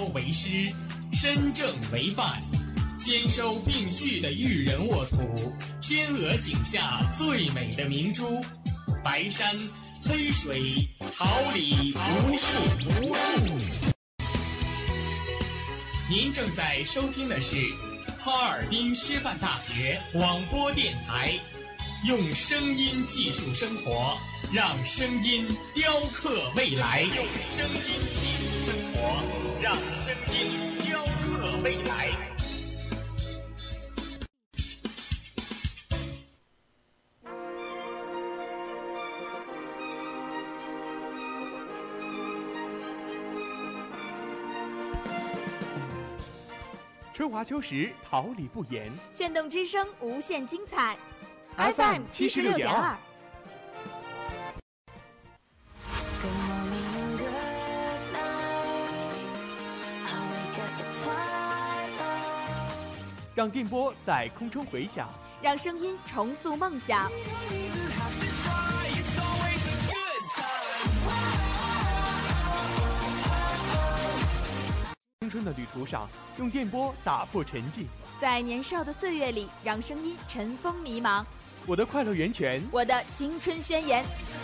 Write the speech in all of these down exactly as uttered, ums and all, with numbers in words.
为师，身正为范，兼收并蓄的育人沃土，天鹅颈下最美的明珠，白山黑水，桃李无数。您正在收听的是哈尔滨师范大学广播电台，用声音技术生活，让声音雕刻未来。用声音技术生活，让声音雕刻未来。 春华秋实，桃李不言。 炫动之声，无限精彩。 F M 七十六点二。让电波在空中回响， 让声音重塑梦想。 青春的旅途上，用电波打破沉寂。 在年少的岁月里，让声音尘封迷茫。 我的快乐源泉， 我的青春宣言。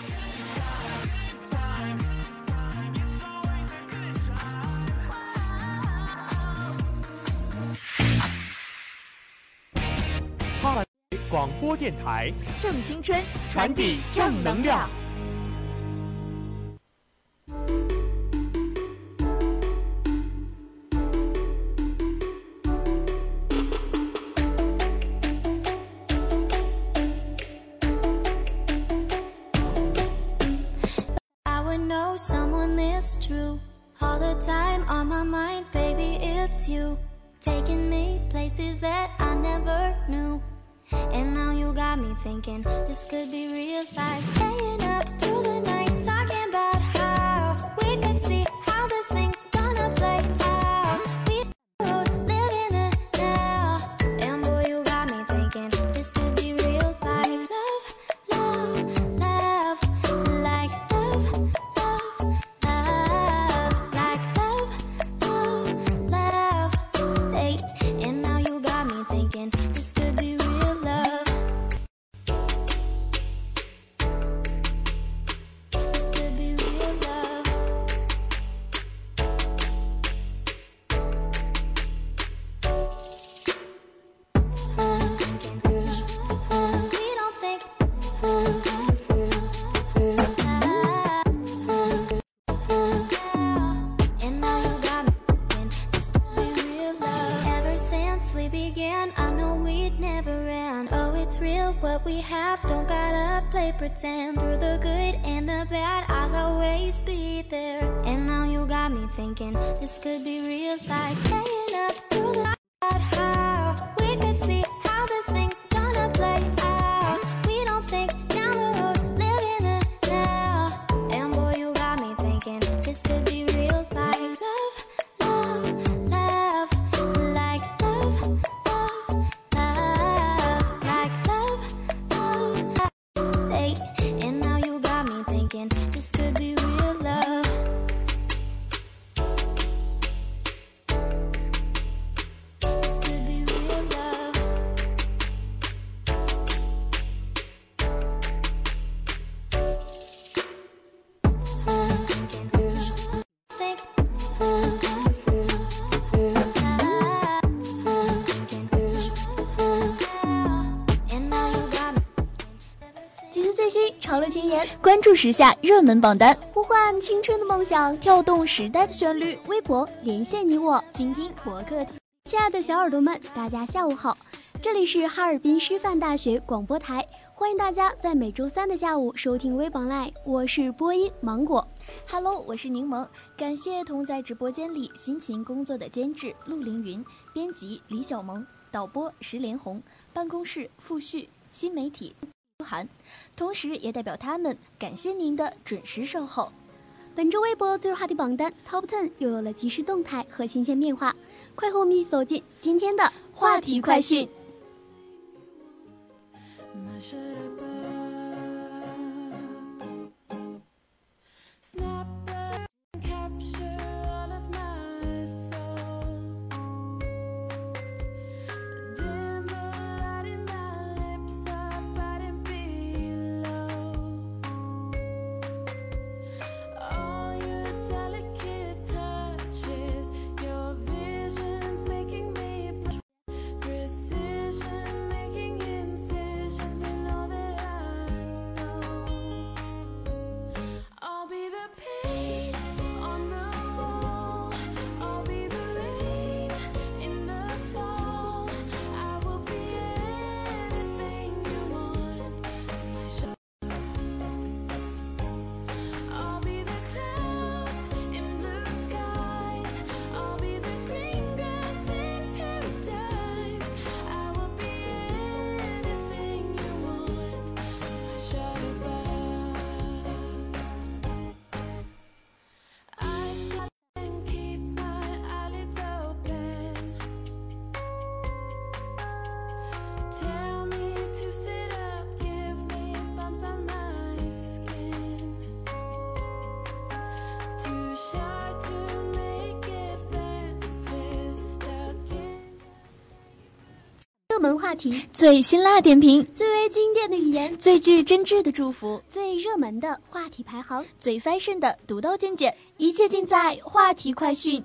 哈尔广播电台， 正青春， 传递正能量。 All the time on my mind, baby, it's you. Taking me places that I never knew. And now you got me thinking this could be real life. Staying up through the night, talking about how we could see how this thing's gonna play out. We live in the now. And boy, you got me thinking this could be real life. Love, love, love, like love, love, love. Like love, love, love, hey. And now you got me thinking this could be real love. This could be real love. Love, we don't think love, and now you got me thinking this could be real love. Ever since we began, I know we'd never end. Oh, it's real what we have, don't gotta play pretend. Through the good and the bad, I'll always be there. And now you got me thinking this could be real life. Staying up through the night, how we could see how this thing's gonna play out. We don't think down the road, live in the now. And boy, you got me thinking this could be real life. Love, love, love, like love, love, love, like love, love, love, hey. And now you got me thinking this could be real love. This could be real love. Love, think, love, love, thinking, and now you got me. 即时最新潮流前沿， 关注时下热门榜单， 呼唤青春的梦想，跳动时代的旋律。微博连线你我， 倾听博客。 亲爱的小耳朵们，大家下午好，这里是哈尔滨师范大学广播台，欢迎大家在每周三的下午收听微榜 Live， 我是播音芒果。 Hello， 我是柠檬，感谢同在直播间里辛勤工作的监制陆凌云、编辑李小萌、导播石连红、办公室付旭、新媒体涵，同时也代表他们感谢您的准时守候。 本周微博最热话题榜单 Top 十又有了即时动态和新鲜变化，快和我们一起走进今天的话题快讯。 Snap and capture all of my soul. 门话题， 最辛辣点评， 最为经典的语言， 最具真挚的祝福， 最热门的话题排行， 最 fashion 的独到见解，一切尽在话题快讯。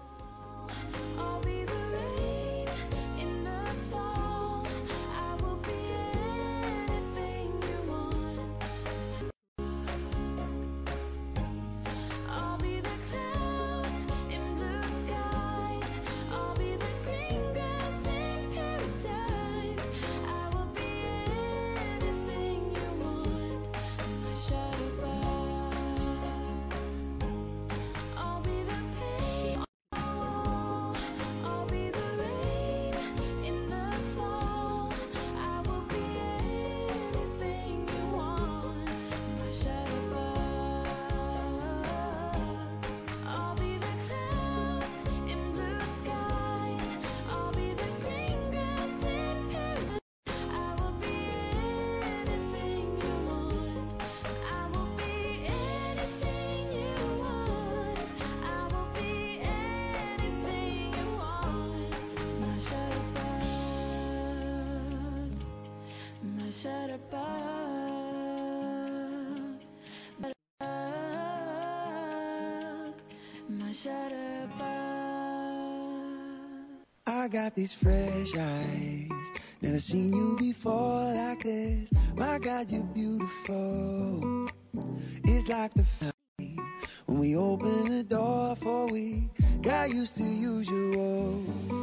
I got these fresh eyes, never seen you before like this. My God, you're beautiful. It's like the time when we opened the door for we got used to usual.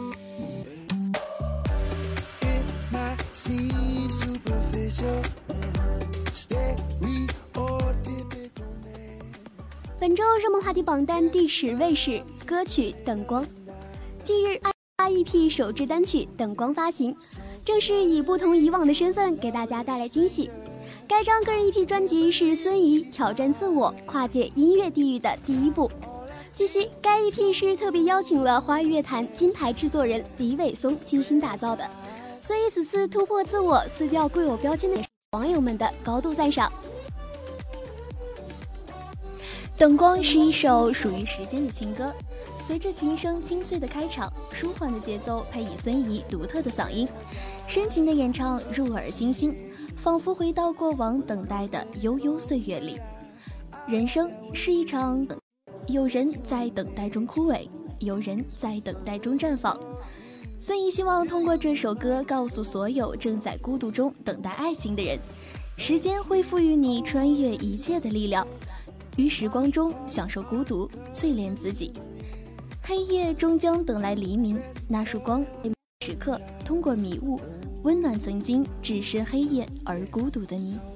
It might seem superficial, stereotypical man. 本周热门话题榜单第十位是歌曲《等光》。近日 I E P 首支单曲《等光》发行，正是以不同以往的身份给大家带来惊喜。该张个人 E P 专辑是孙怡挑战自我、跨界音乐地域的第一步。据悉，该 E P 是特别邀请了华语乐坛金牌制作人李伟松精心打造的，所以此次突破自我、撕掉固有标签的网友们的高度赞赏。 《等光》是一首属于时间的情歌，随着琴声清脆的开场，舒缓的节奏配以孙怡独特的嗓音，深情的演唱入耳清新，仿佛回到过往等待的悠悠岁月里。人生是一场，有人在等待中枯萎，有人在等待中绽放。孙怡希望通过这首歌告诉所有正在孤独中等待爱情的人，时间会赋予你穿越一切的力量，于时光中享受孤独，淬炼自己。黑夜终将等来黎明，那束光时刻通过迷雾温暖曾经置身黑夜而孤独的你。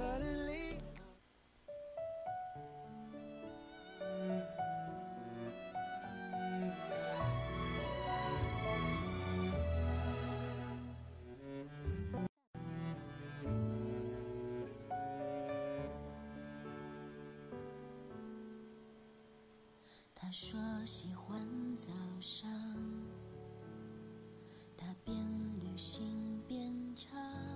他说喜欢早上，他边旅行边唱，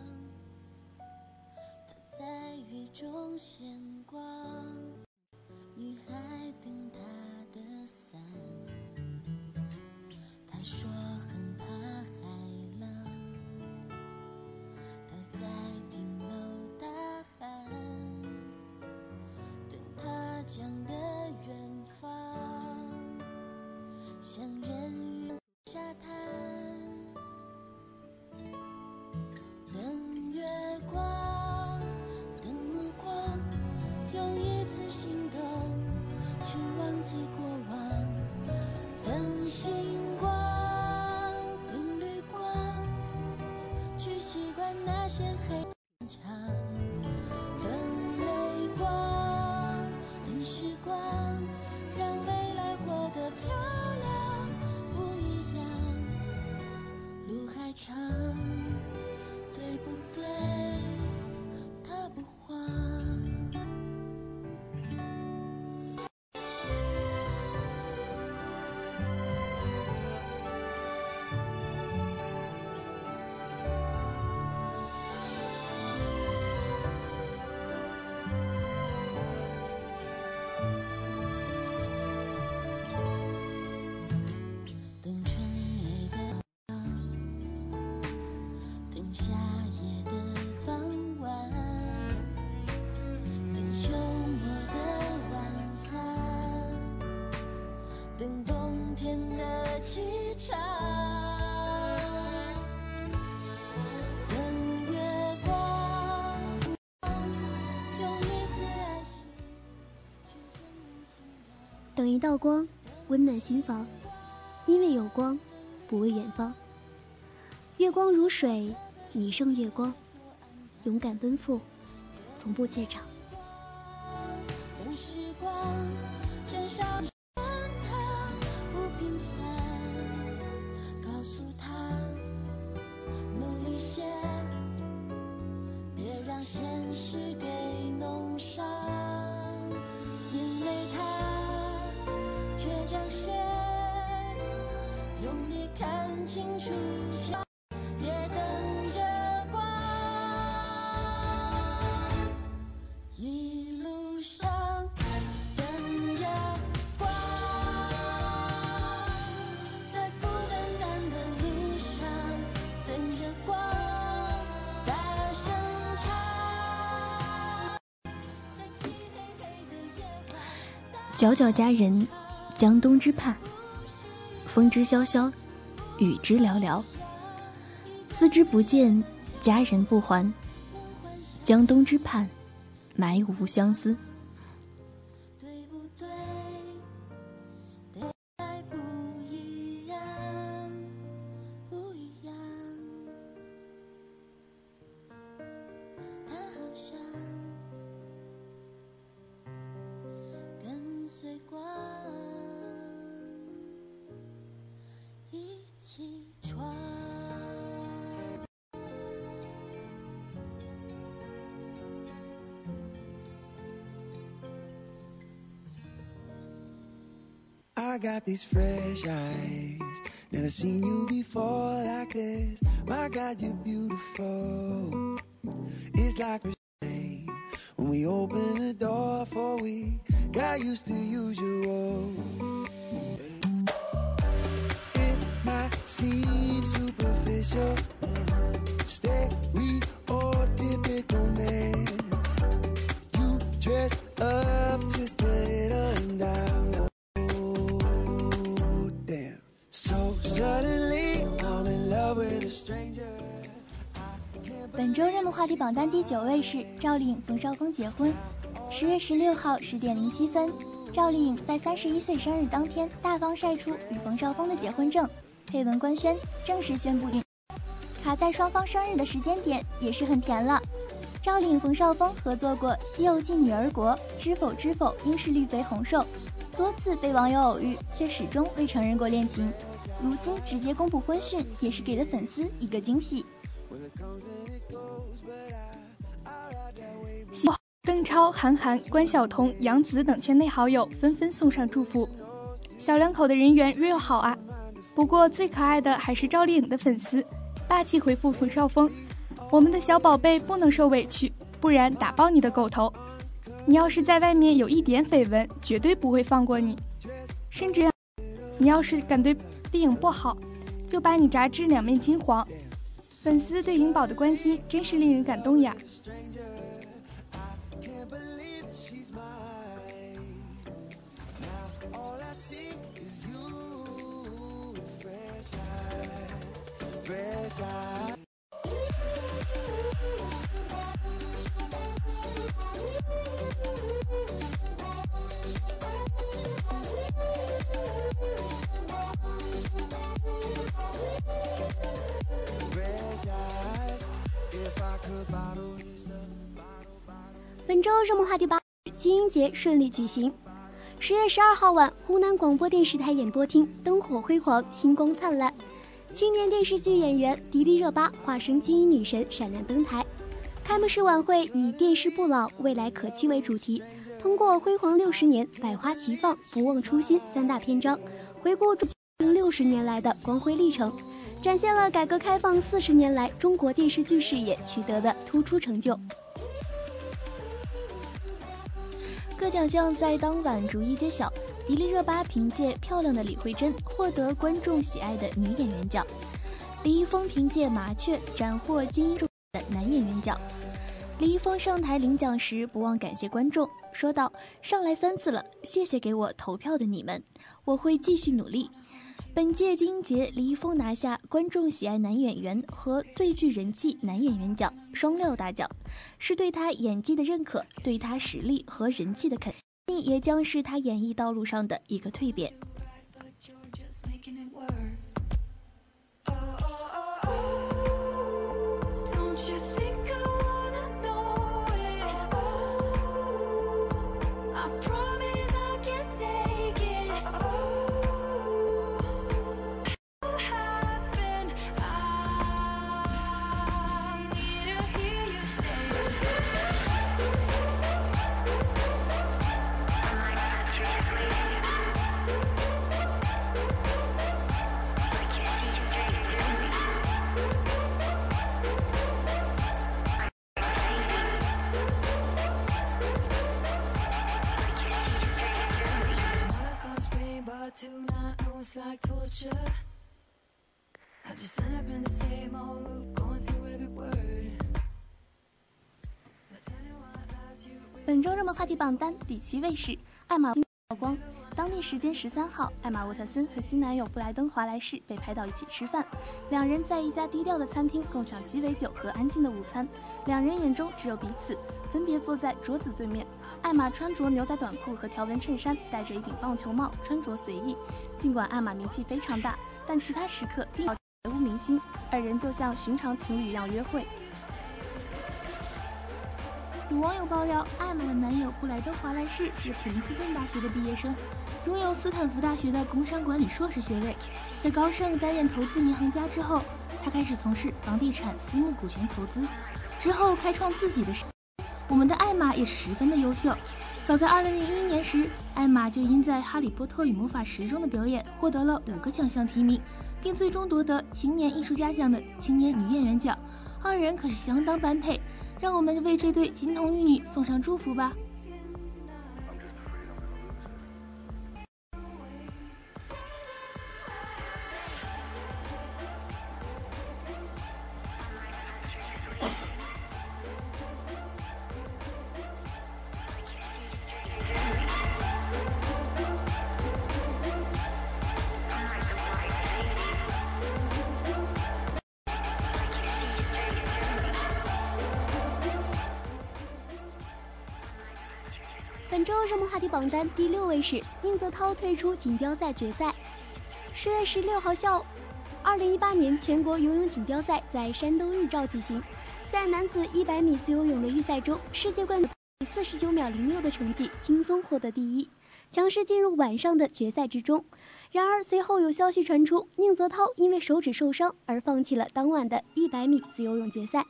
他在雨中闲逛，女孩等他的伞。他说很怕海浪，他在顶楼大喊，等他讲的远方，像人鱼沙滩，等月光，等目光，用一次心动去忘记过往，等星光，等绿光，去习惯那些黑暗场，等泪光，等时光，让未来活得漂亮。长，对不对？他不慌。 等一道光，温暖心房。因为有光，不畏远方。月光如水，你胜月光。勇敢奔赴，从不怯场。 等时光沾上它不平凡，告诉他努力些，别让现实给弄伤。因为他倔强些，用力看清楚桥，别等着光。一路上等着光，在孤单单的路上等着光，大声唱，在漆黑黑的夜晚。 皎皎佳人，江东之畔，风之萧萧，雨之寥寥。思之不见，佳人不还。江东之畔，埋无相思。 对不对？对爱不一样，不一样。它好像跟随光一起闯。 I got these fresh eyes, never seen you before like this. My God, you're beautiful. It's like a shame when we open the door for we got used to usual. It might seem superficial, stereotypical man. You dress up just a little and down. Suddenly, I'm in love with a stranger. 本周热门话题榜单第九位是赵丽颖、冯绍峰结婚。十月十六号十点零七分，赵丽颖在三十一岁生日当天大方晒出与冯绍峰的结婚证，配文官宣正式宣布定。卡在双方生日的时间点也是很甜了。赵丽颖、冯绍峰合作过《西游记女儿国》《知否知否应是绿肥红瘦》，多次被网友偶遇，却始终未承认过恋情。如今直接公布婚讯，也是给了粉丝一个惊喜。 邓超、韩寒、关晓彤、杨紫等圈内好友纷纷送上祝福。小两口的人缘 real 好啊！不过最可爱的还是赵丽颖的粉丝，霸气回复冯绍峰：“我们的小宝贝不能受委屈，不然打爆你的狗头！你要是在外面有一点绯闻，绝对不会放过你。甚至你要是敢对丽颖不好，就把你炸至两面金黄。”粉丝对颖宝的关心真是令人感动呀！ 本周热门话题八，金鹰节顺利举行。十月十二号晚，湖南广播电视台演播厅灯火辉煌，星光灿烂。青年电视剧演员迪丽热巴化身金鹰女神闪亮登台。开幕式晚会以电视不老，未来可期为主题，通过辉煌六十年、百花齐放、不忘初心三大篇章，回顾中六十年来的光辉历程，展现了改革开放四十年来中国电视剧事业取得的突出成就。 各奖项在当晚逐一揭晓，迪丽热巴凭借《漂亮的李慧珍》获得观众喜爱的女演员奖，李易峰凭借《麻雀》斩获金鹰的男演员奖。李易峰上台领奖时不忘感谢观众，说道：“上来三次了，谢谢给我投票的你们，我会继续努力。”本届金鹰节，李易峰拿下观众喜爱男演员和最具人气男演员奖双料大奖，是对他演技的认可，对他实力和人气的肯定。 也将是他演艺道路上的一个蜕变。 It's like torture. I just end up in the same old loop, going through every word. 本周热门话题榜单第七位是艾玛曝光。当地时间十三号，艾玛沃特森和新男友布莱登华莱士被拍到一起吃饭，两人在一家低调的餐厅共享鸡尾酒和安静的午餐，两人眼中只有彼此，分别坐在桌子对面。艾玛穿着牛仔短裤和条纹衬衫，戴着一顶棒球帽，穿着随意。尽管艾玛名气非常大，但其他时刻并毫无明星，二人就像寻常情侣一样约会。有网友爆料，艾玛的男友布莱登华莱士是普林斯顿大学的毕业生，拥有斯坦福大学的工商管理硕士学位。在高盛担任投资银行家之后，他开始从事房地产私募股权投资，之后开创自己的事业。我们的艾玛也是十分的优秀。早在二零零一年时，艾玛就因在《哈利波特与魔法石》中的表演获得了五个奖项提名，并最终夺得青年艺术家奖的青年女演员奖。二人可是相当般配，让我们为这对金童玉女送上祝福吧。 本周热门话题榜单第六位是宁泽涛退出锦标赛决赛。十月十六号下午，二零一八年全国游泳锦标赛在山东日照举行。在男子一百米自由泳的预赛中，世界冠军以四十九秒零六的成绩轻松获得第一，强势进入晚上的决赛之中。然而随后有消息传出，宁泽涛因为手指受伤而放弃了当晚的一百米自由泳决赛。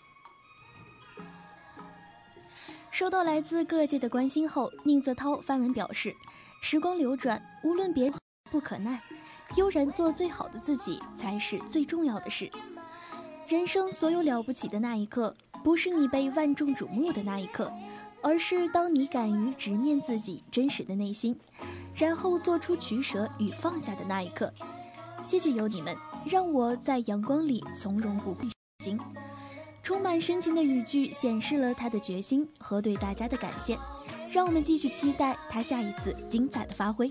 收到来自各界的关心后，宁泽涛发文表示：“时光流转，无论别不可奈，悠然做最好的自己才是最重要的事。人生所有了不起的那一刻，不是你被万众瞩目的那一刻，而是当你敢于直面自己真实的内心，然后做出取舍与放下的那一刻。谢谢有你们，让我在阳光里从容不迫行。”充满深情的语句显示了他的决心和对大家的感谢，让我们继续期待他下一次精彩的发挥。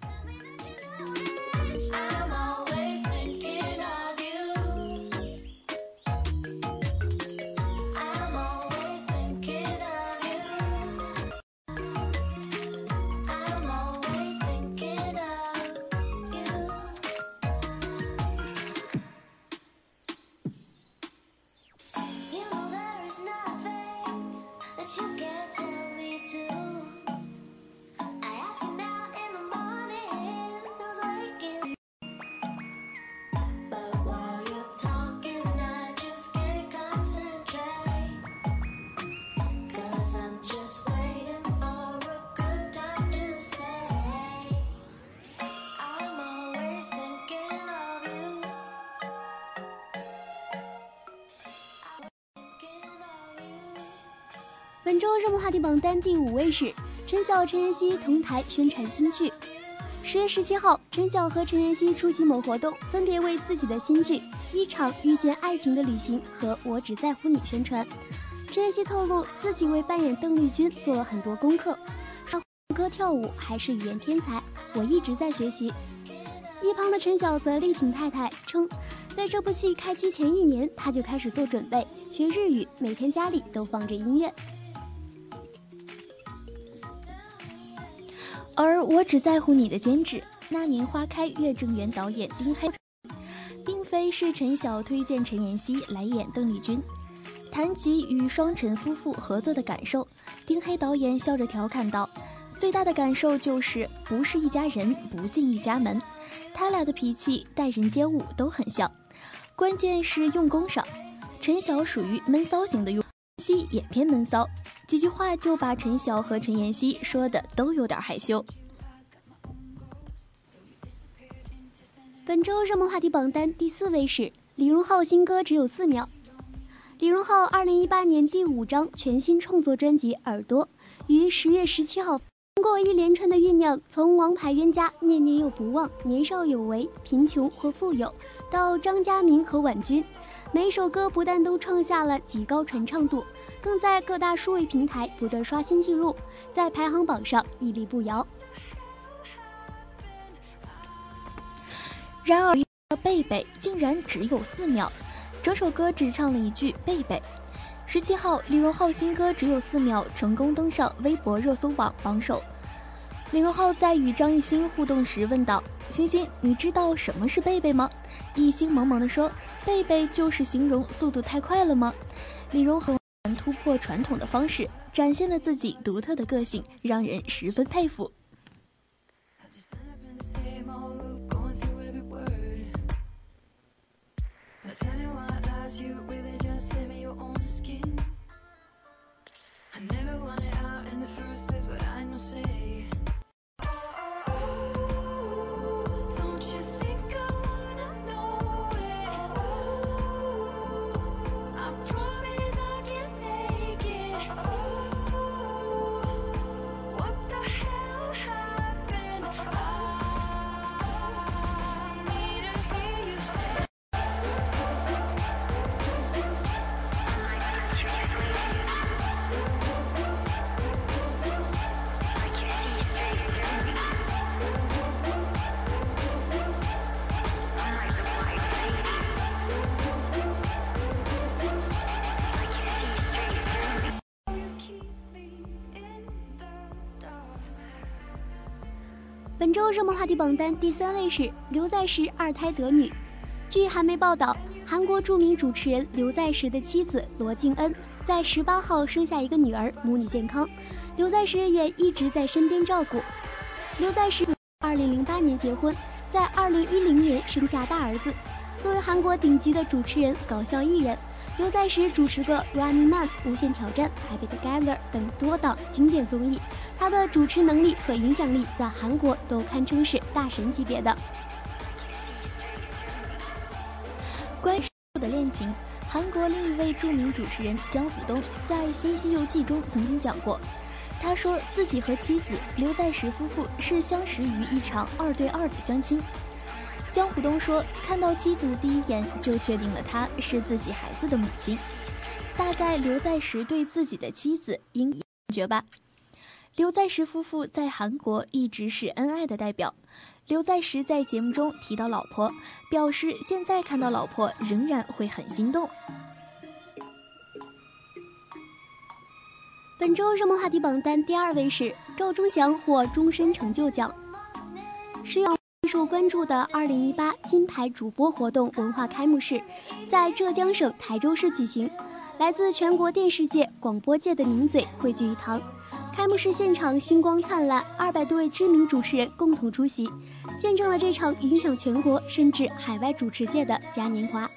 本周热门话题榜单第五位是陈晓、陈妍希同台宣传新剧。十月十七号，陈晓和陈妍希出席某活动，分别为自己的新剧《一场遇见爱情的旅行》和《我只在乎你》宣传。陈妍希透露，自己为扮演邓丽君做了很多功课，唱歌跳舞还是语言天才，我一直在学习。一旁的陈晓则力挺太太，称在这部戏开机前一年，他就开始做准备，学日语，每天家里都放着音乐。 而我只在乎你的监制，那年花开月正圆导演丁黑，并非是陈晓推荐陈妍希来演邓丽君。谈及与双陈夫妇合作的感受，丁黑导演笑着调侃道：最大的感受就是不是一家人不进一家门，他俩的脾气待人接物都很像，关键是用功上。陈晓属于闷骚型的用，希也偏闷骚，几句话就把陈晓和陈妍希说的都有点害羞。 本周热门话题榜单第四位是李荣浩新歌只有四秒。李荣浩二零一八年第五张全新创作专辑《耳朵》于十月十七号，经过一连串的酝酿，从王牌冤家、念念又不忘、年少有为、贫穷或富有，到张嘉明和婉君，每一首歌不但都创下了极高传唱度，更在各大数位平台不断刷新纪录，在排行榜上屹立不摇。 然而贝贝竟然只有四秒，整首歌只唱了一句贝贝。十七号，李荣浩新歌只有四秒成功登上微博热搜榜榜首。李荣浩在与张艺兴互动时问道：星星，你知道什么是贝贝吗？艺兴萌萌地说：贝贝就是形容速度太快了吗？李荣浩突破传统的方式，展现了自己独特的个性，让人十分佩服。 本周热门话题榜单第三位是刘在石二胎得女。据韩媒报道，韩国著名主持人刘在石的妻子罗敬恩在十八号生下一个女儿，母女健康，刘在石也一直在身边照顾。刘在石二零零八年结婚，在二零一零年生下大儿子。作为韩国顶级的主持人、搞笑艺人，刘在石主持过《Running Man》、《无限挑战》、《Happy Together》等多档经典综艺，他的主持能力和影响力在韩国都堪称是大神级别的。 关于的恋情，韩国另一位著名主持人姜虎东在《新西游记》中曾经讲过，他说自己和妻子刘在石夫妇是相识于一场二对二的相亲。姜虎东说，看到妻子的第一眼就确定了她是自己孩子的母亲，大概刘在石对自己的妻子应感觉吧。刘在石夫妇在韩国一直是恩爱的代表。刘在石在节目中提到老婆，表示现在看到老婆仍然会很心动。 本周热门话题榜单第二位是赵忠祥获终身成就奖。十月受关注的二零一八金牌主播活动文化开幕式在浙江省台州市举行，来自全国电视界、广播界的名嘴汇聚一堂。开幕式现场星光灿烂，二百多位知名主持人共同出席，见证了这场影响全国甚至海外主持界的嘉年华。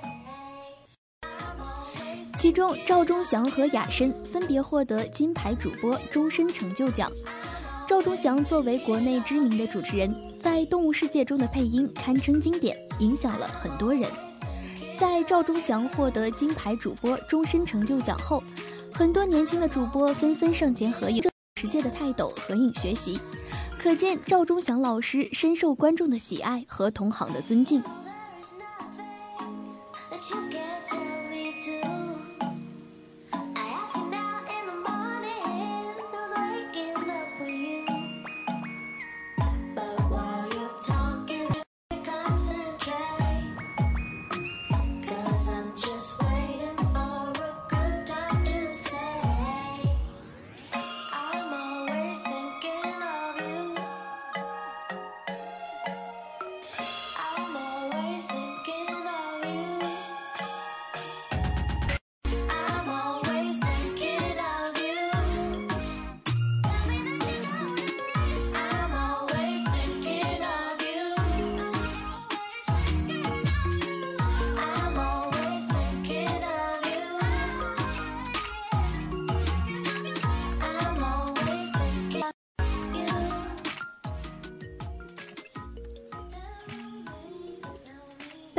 其中赵忠祥和雅申分别获得金牌主播终身成就奖。赵忠祥作为国内知名的主持人，在《动物世界》中的配音堪称经典，影响了很多人。在赵忠祥获得金牌主播终身成就奖后，很多年轻的主播纷纷上前合影，世界的泰斗合影学习，可见赵忠祥老师深受观众的喜爱和同行的尊敬。 I'm always thinking of you.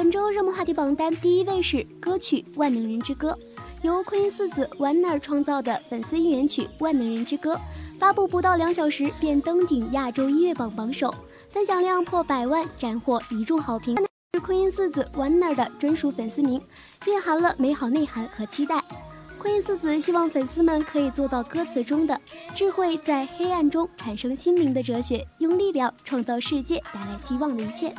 本周热门话题榜单第一位是歌曲《万能人之歌》，由昆音四子 Warner 创造的粉丝应援曲《万能人之歌》，发布不到两小时便登顶亚洲音乐榜榜首，分享量破百万，斩获一众好评。是昆音四子 Warner 的专属粉丝名，蕴含了美好内涵和期待。昆音四子希望粉丝们可以做到歌词中的智慧在黑暗中产生心灵的哲学，用力量创造世界，带来希望的一切。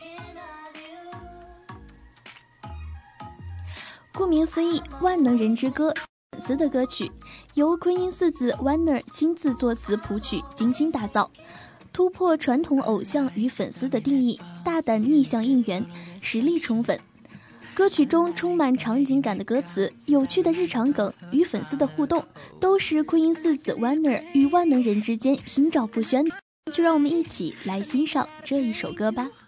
顾名思义，万能人之歌粉丝的歌曲，由昆音四子 Warner 亲自作词谱曲，精心打造，突破传统偶像与粉丝的定义，大胆逆向应援，实力宠粉。歌曲中充满场景感的歌词，有趣的日常梗与粉丝的互动，都是昆音四子 Warner 与万能人之间心照不宣。就让我们一起来欣赏这一首歌吧。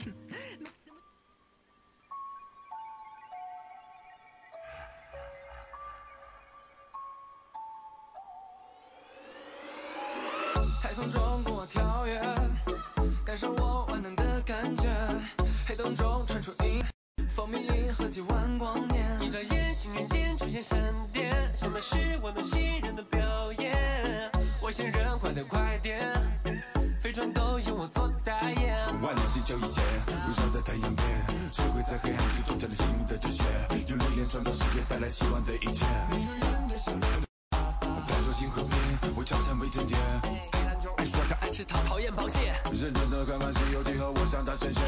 太空中跟我跳跃，感受我万能的感觉，黑洞中传出音，蜂蜜银河几万光年，一眨眼心愿间出现闪电，想的是我能信任的表演，外星人快点快点，飞船都由我做代言，万能星球一切围绕在太阳边，社会在黑暗之中找到新的哲学，用力量创造世界，带来希望的一切，带着新和平，我常常被沉淀，爱说唱爱吃糖讨厌螃蟹，认真的看看西游记和我向他呈现，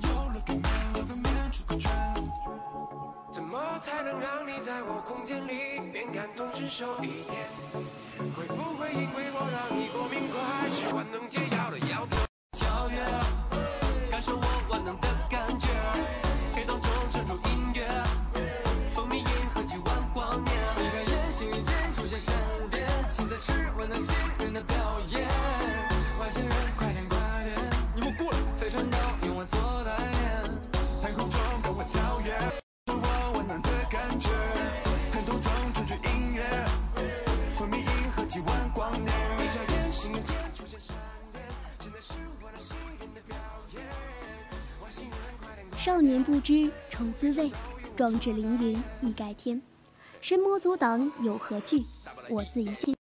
怎么才能让你在我空间里边感同身受一点，会不会因为我让你过敏快是万能解药的药片，跳跃感受我万能的感觉，黑洞中传出音乐，蜂蜜银河几万光年，一眨眼心语间出现闪电，现在是万能新人的表演，外星人快点快点，你们过来，飞船都用我做代言，太空中跟我跳跃，我万能的感觉，黑洞中传出音乐，蜂蜜银河几万光年，一眨眼心语间出现闪电，现在是万能新人的表演，外星人快点快点， 少年不知愁滋味，壮志凌云亦盖天，神魔阻挡有何惧，我自一线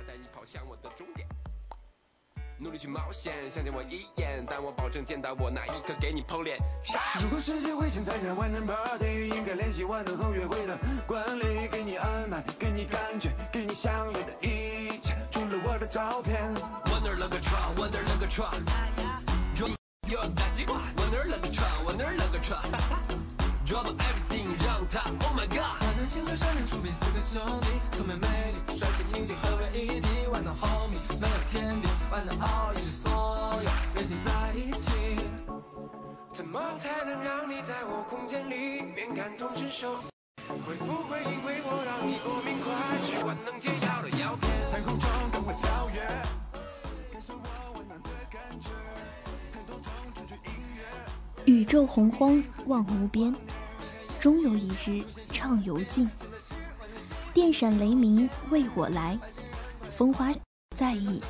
努力去冒险，想见我一眼，但我保证见到我那一刻给你剖脸。如果世界会现在在万人 party， 应该联系万能后约会的管理，给你安排，给你感觉，给你想要的一切，除了我的照片。Wonder 了个窗 ，Wonder 了个窗 ，Drop your 大西瓜 ，Wonder 了个窗 ，Wonder 了个窗 ，Drop everything 让他 ，Oh my God。万能星球上人出比四个兄弟，聪明美丽，帅气英俊合为一体，万能 homie 没有天敌。万能奥义是所有人心在一起，怎么才能让你在我空间里面感同身受？会不会因为我让你过敏快是万能解药的药片？太空中跟我跳跃，感受我温暖的感觉，黑洞中传出音乐， 宇宙洪荒望无边，终有一日畅游尽。电闪雷鸣为我来，风花在意。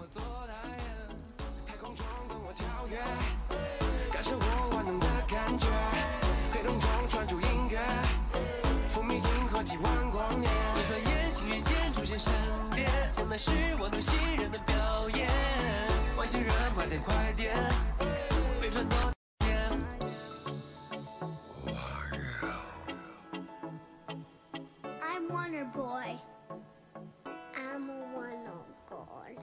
几万光年，一转眼心语间出现闪电，现在是我能信任的表演，外星人快点快点，飞船都点。 I'm Wonder Boy. I'm a Wonder God.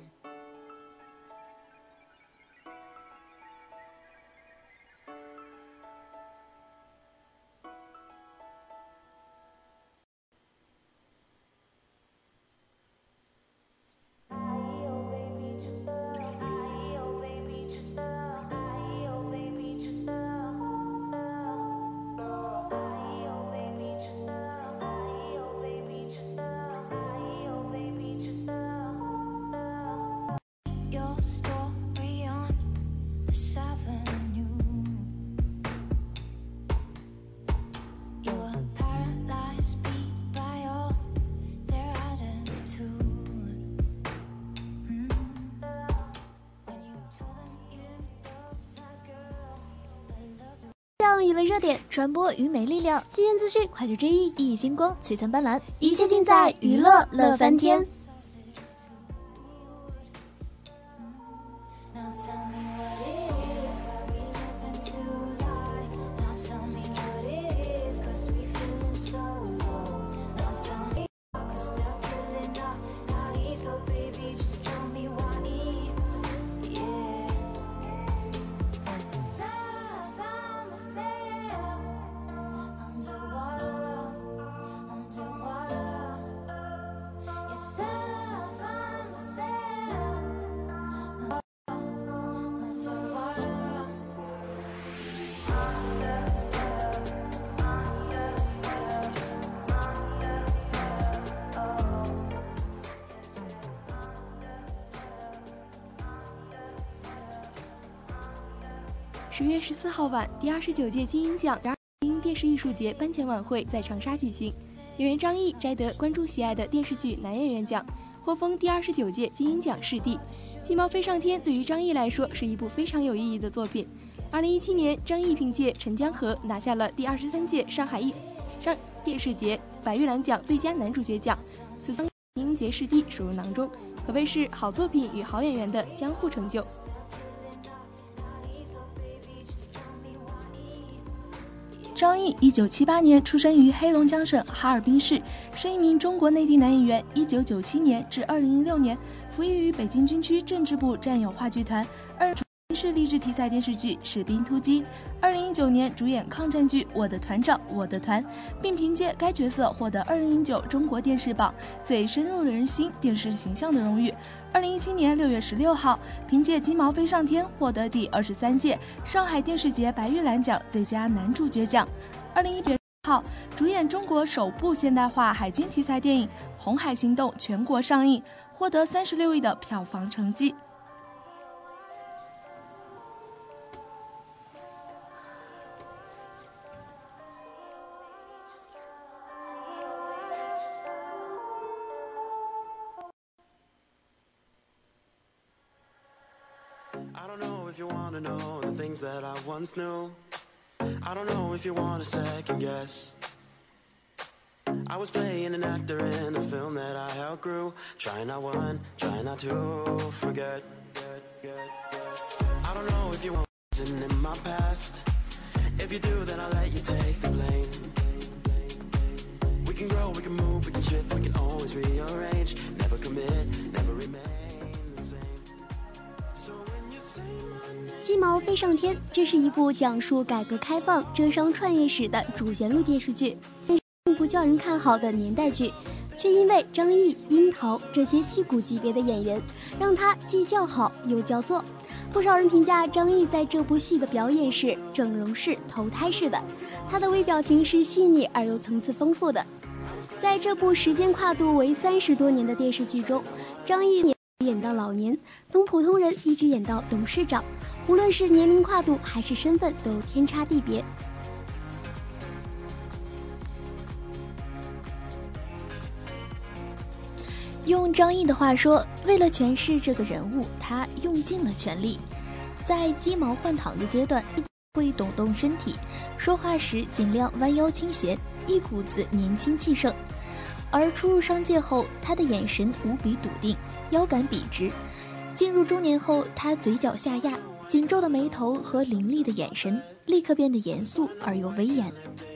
享娱乐热点， 传播娱美力量， 新鲜资讯，快速追忆， 熠熠星光，璀璨斑斓， 一切尽在娱乐乐翻天。 十月十四号晚，第二十九届金鹰奖电视艺术节颁奖晚会在长沙举行。演员张译摘得观众喜爱的电视剧男演员奖，获封第二十九届金鹰奖视帝。《鸡毛飞上天》对于张译来说是一部非常有意义的作品。二零一七年，张译凭借《陈江河》拿下了第二十三届上海艺上电视节白玉兰奖最佳男主角奖，此次金鹰节视帝收入囊中，可谓是好作品与好演员的相互成就。张译一九七八年出生于黑龙江省哈尔滨市，是一名中国内地男演员。一九九七年至二零一六年，服役于北京军区政治部战友话剧团，二主演是励志题材电视剧《士兵突击》。二零一九年主演抗战剧《我的团长我的团》，并凭借该角色获得二零一九中国电视榜最深入人心电视形象的荣誉。二零一七年六月十六号，凭借《鸡毛飞上天》获得第二十三届上海电视节白玉兰奖最佳男主角奖。二零一八号，主演中国首部现代化海军题材电影《红海行动》全国上映，获得三十六亿的票房成绩。 I don't know if you wanna know the things that I once knew. I don't know if you wanna second guess. I was playing an actor in a film that I outgrew. Try not one, try not to forget. I don't know if you want listen in my past. If you do, then I'll let you take the blame. We can grow, we can move, we can shift, we can always rearrange. Never commit, never remain. 鸡毛飞上天，这是一部讲述改革开放浙商创业史的主旋律电视剧，并不叫人看好的年代剧，却因为张译、樱桃这些戏骨级别的演员，让他既叫好又叫座。不少人评价张译在这部戏的表演是整容式、投胎式的，他的微表情是细腻而又层次丰富的。在这部时间跨度为三十多年的电视剧中，张译演到老年，从普通人一直演到董事长，无论是年龄跨度还是身份都天差地别。 用张译的话说，为了诠释这个人物，他用尽了全力。在鸡毛换糖的阶段，会抖动身体，说话时尽量弯腰倾斜，一股子年轻气盛。而初入商界后，他的眼神无比笃定，腰杆笔直。进入中年后，他嘴角下压，紧皱的眉头和凌厉的眼神立刻变得严肃而又威严。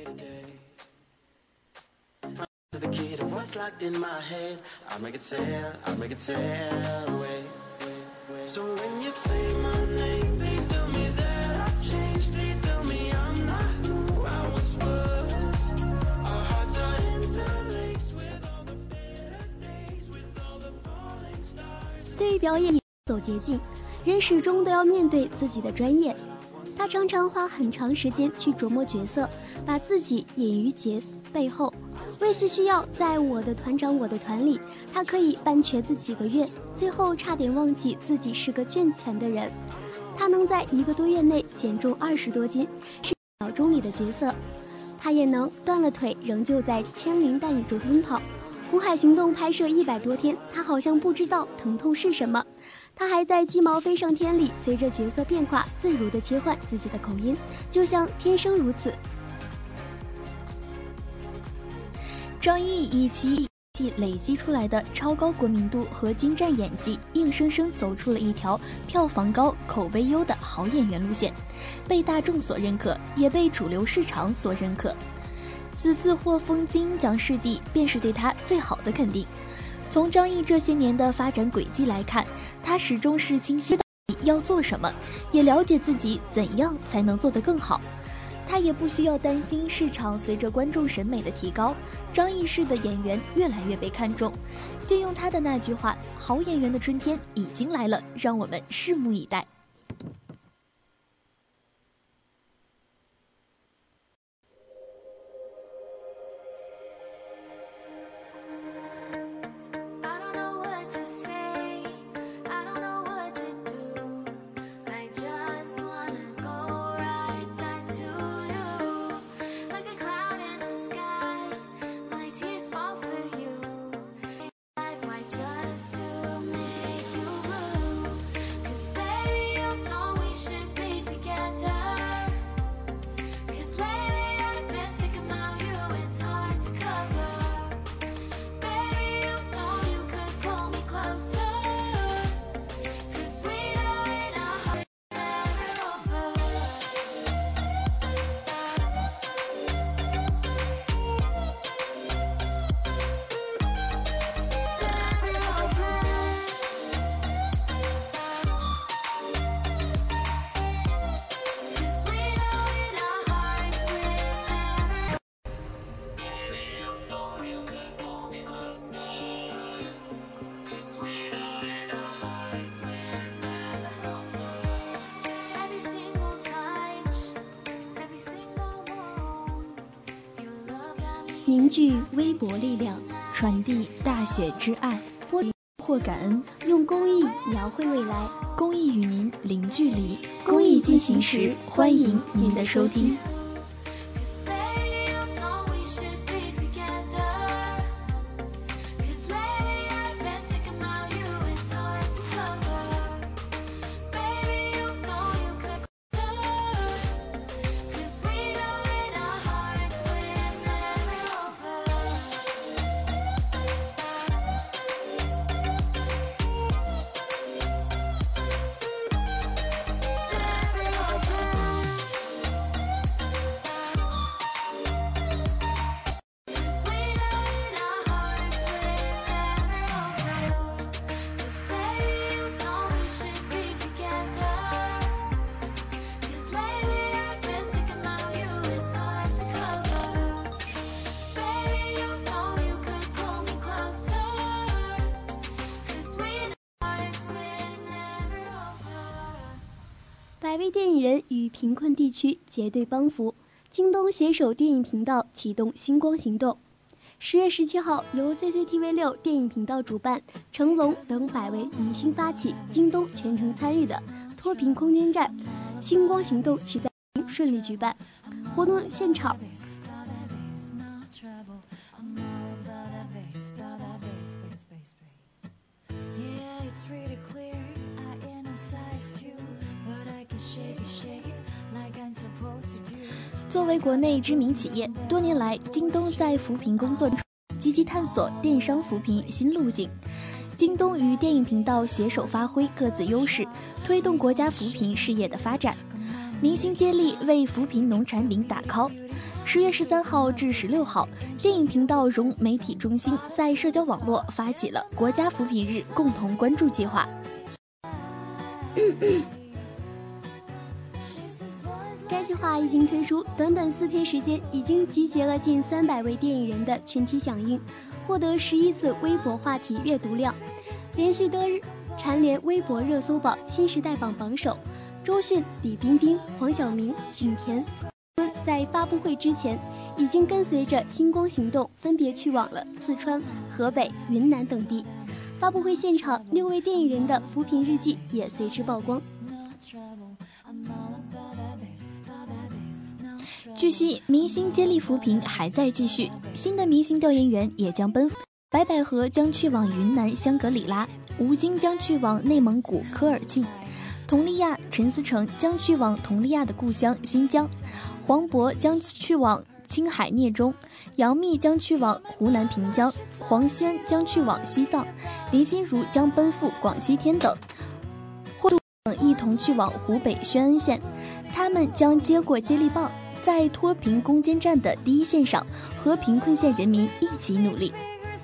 对于表演走捷径，人始终都要面对自己的专业。他常常花很长时间去琢磨角色，把自己隐于节背后。为戏需要，在我的团长我的团里，他可以半瘸子几个月，最后差点忘记自己是个赚钱的人。他能在一个多月内减重二十多斤，是小钟里的角色。他也能断了腿，仍旧在枪林弹雨中奔跑。 苦海行动拍摄一百多天，他好像不知道疼痛是什么。他还在鸡毛飞上天里，随着角色变化自如地切换自己的口音，就像天生如此。 张译以其累积出来的超高国民度和精湛演技，硬生生走出了一条票房高、口碑优的好演员路线，被大众所认可，也被主流市场所认可。此次获封金鹰奖视帝，便是对他最好的肯定。从张译这些年的发展轨迹来看，他始终是清晰的要做什么，也了解自己怎样才能做得更好。他也不需要担心市场随着观众审美的提高，张译式的演员越来越被看重。借用他的那句话，好演员的春天已经来了，让我们拭目以待。 凝聚微博力量， 传递大雪之爱，或感恩， 用公益描绘未来， 公益与您零距离。公益进行时，欢迎您的收听。 百位电影人与贫困地区结对帮扶，京东携手电影频道启动星光行动。十月十七号，由 C C T V 六电影频道主办，成龙等百位明星发起，京东全程参与的脱贫攻坚战星光行动期待顺利举办。活动现场作为国内知名企业，多年来京东在扶贫工作中积极探索电商扶贫新路径。京东与电影频道携手发挥各自优势，推动国家扶贫事业的发展。明星接力为扶贫农产品打 call。十月十三号至十六号，电影频道融媒体中心在社交网络发起了国家扶贫日共同关注计划。 该计划一经推出，短短四天时间，已经集结了近三百位电影人的群体响应，获得十一次微博话题阅读量，连续得日蝉联微博热搜榜新时代榜榜首。周迅、李冰冰、黄晓明、景甜在发布会之前，已经跟随着星光行动分别去往了四川、河北、云南等地。发布会现场，六位电影人的扶贫日记也随之曝光。 据悉，明星接力扶贫还在继续，新的明星调研员也将奔赴白百合将去往云南香格里拉，吴京将去往内蒙古科尔沁，佟丽娅、陈思诚将去往佟丽娅的故乡新疆，黄渤将去往青海聂中，杨幂将去往湖南平江，黄轩将去往西藏，林心如将奔赴广西天等，或等一同去往湖北宣恩县。他们将接过接力棒，在脱贫攻坚战的第一线上，和贫困县人民一起努力。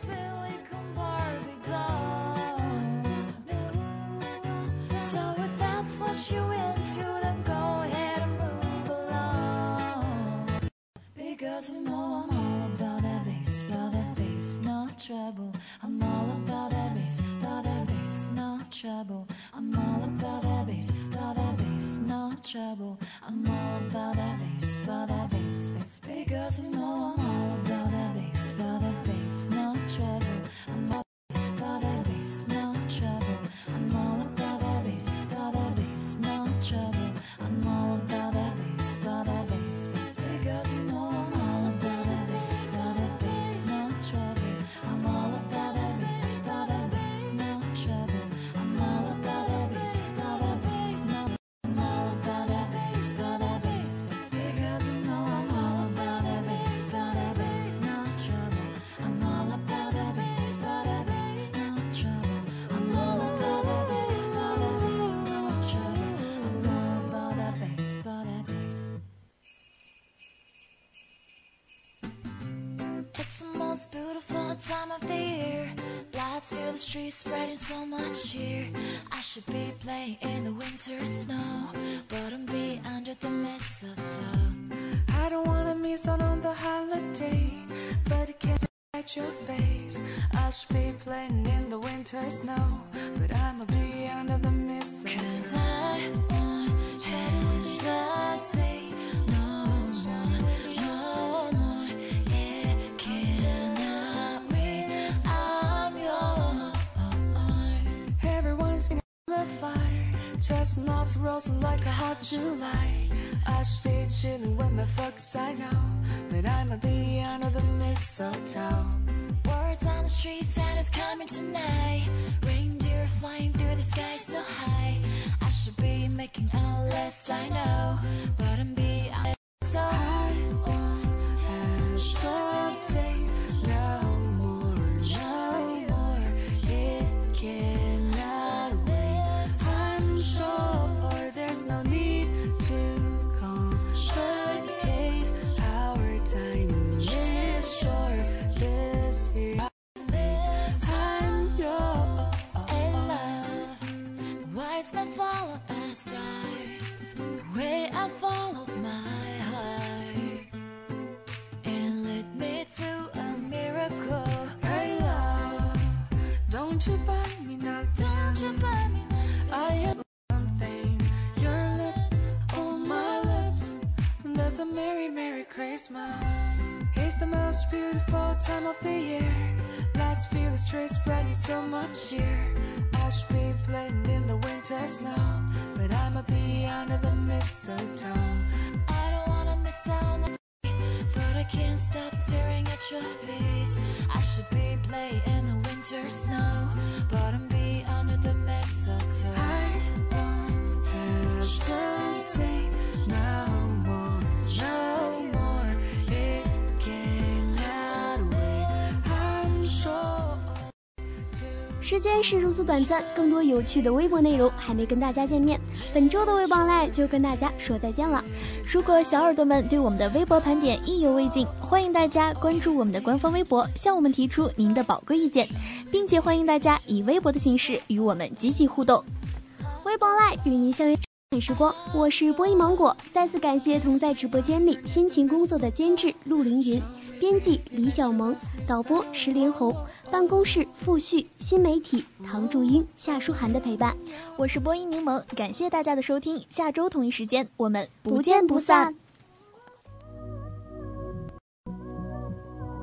Because you know I'm all about that bass, about that bass, not trouble. I'm all about that bass, about that bass, not trouble. I'm all about that bass, about that bass, not trouble. I'm all about that bass, about that bass, bass. Because you know I'm all about that bass, about that bass, not trouble. I'm all about that bass, not trouble. I'm all about that bass, about that bass, not trouble. I'm all about that bass, about that bass, bass. Because you know I'm time of the year, lights fill the streets, spreading so much cheer. I should be playing in the winter snow, but I'm be under the mistletoe. I don't wanna miss out on the holiday, but it can't hide your face. I should be playing in the winter snow, but I'ma be under the mistletoe. 'Cause I won't hesitate. Chestnuts roasting like a hot July. I should be chilling with my folks, I know, but I'ma be under the mistletoe. Words on the street, Santa's coming tonight. Reindeer flying through the sky so high. I should be making a list, I know, but I'm be so I won't hesitate no more, no more. It cannot wait. I'm sure there's no need to complicate. Our time is short. This is I'm yours. And love, wise men follow a star. The way I followed my heart, and it led me to a miracle. Hey love, don't you buy me nothing. Don't you buy me nothing. I have something. Your lips on my lips. That's a merry, merry Christmas. It's the most beautiful time of the year. Lights fill the streets, spreading so much cheer. I should be playing in the winter snow, but I'ma be under the mistletoe. I don't wanna miss out on the day, but I can't stop staring at your face. I should be playing in the winter snow, but I'm be under the mistletoe. I won't hesitate no more, no more. It cannot wait. I'm sure. 时间是如此短暂，更多有趣的微博内容还没跟大家见面，本周的微博 online 就跟大家说再见了。 如果小耳朵们对我们的微博盘点意犹未尽，欢迎大家关注我们的官方微博，向我们提出您的宝贵意见，并且欢迎大家以微博的形式与我们积极互动。 微博 online 与您相约时光，我是播音芒果，再次感谢同在直播间里辛勤工作的监制陆凌云、编辑李小萌、导播石连红、办公室付旭、新媒体唐祝英、夏书涵的陪伴。 我是播音柠檬，感谢大家的收听，下周同一时间我们不见不散。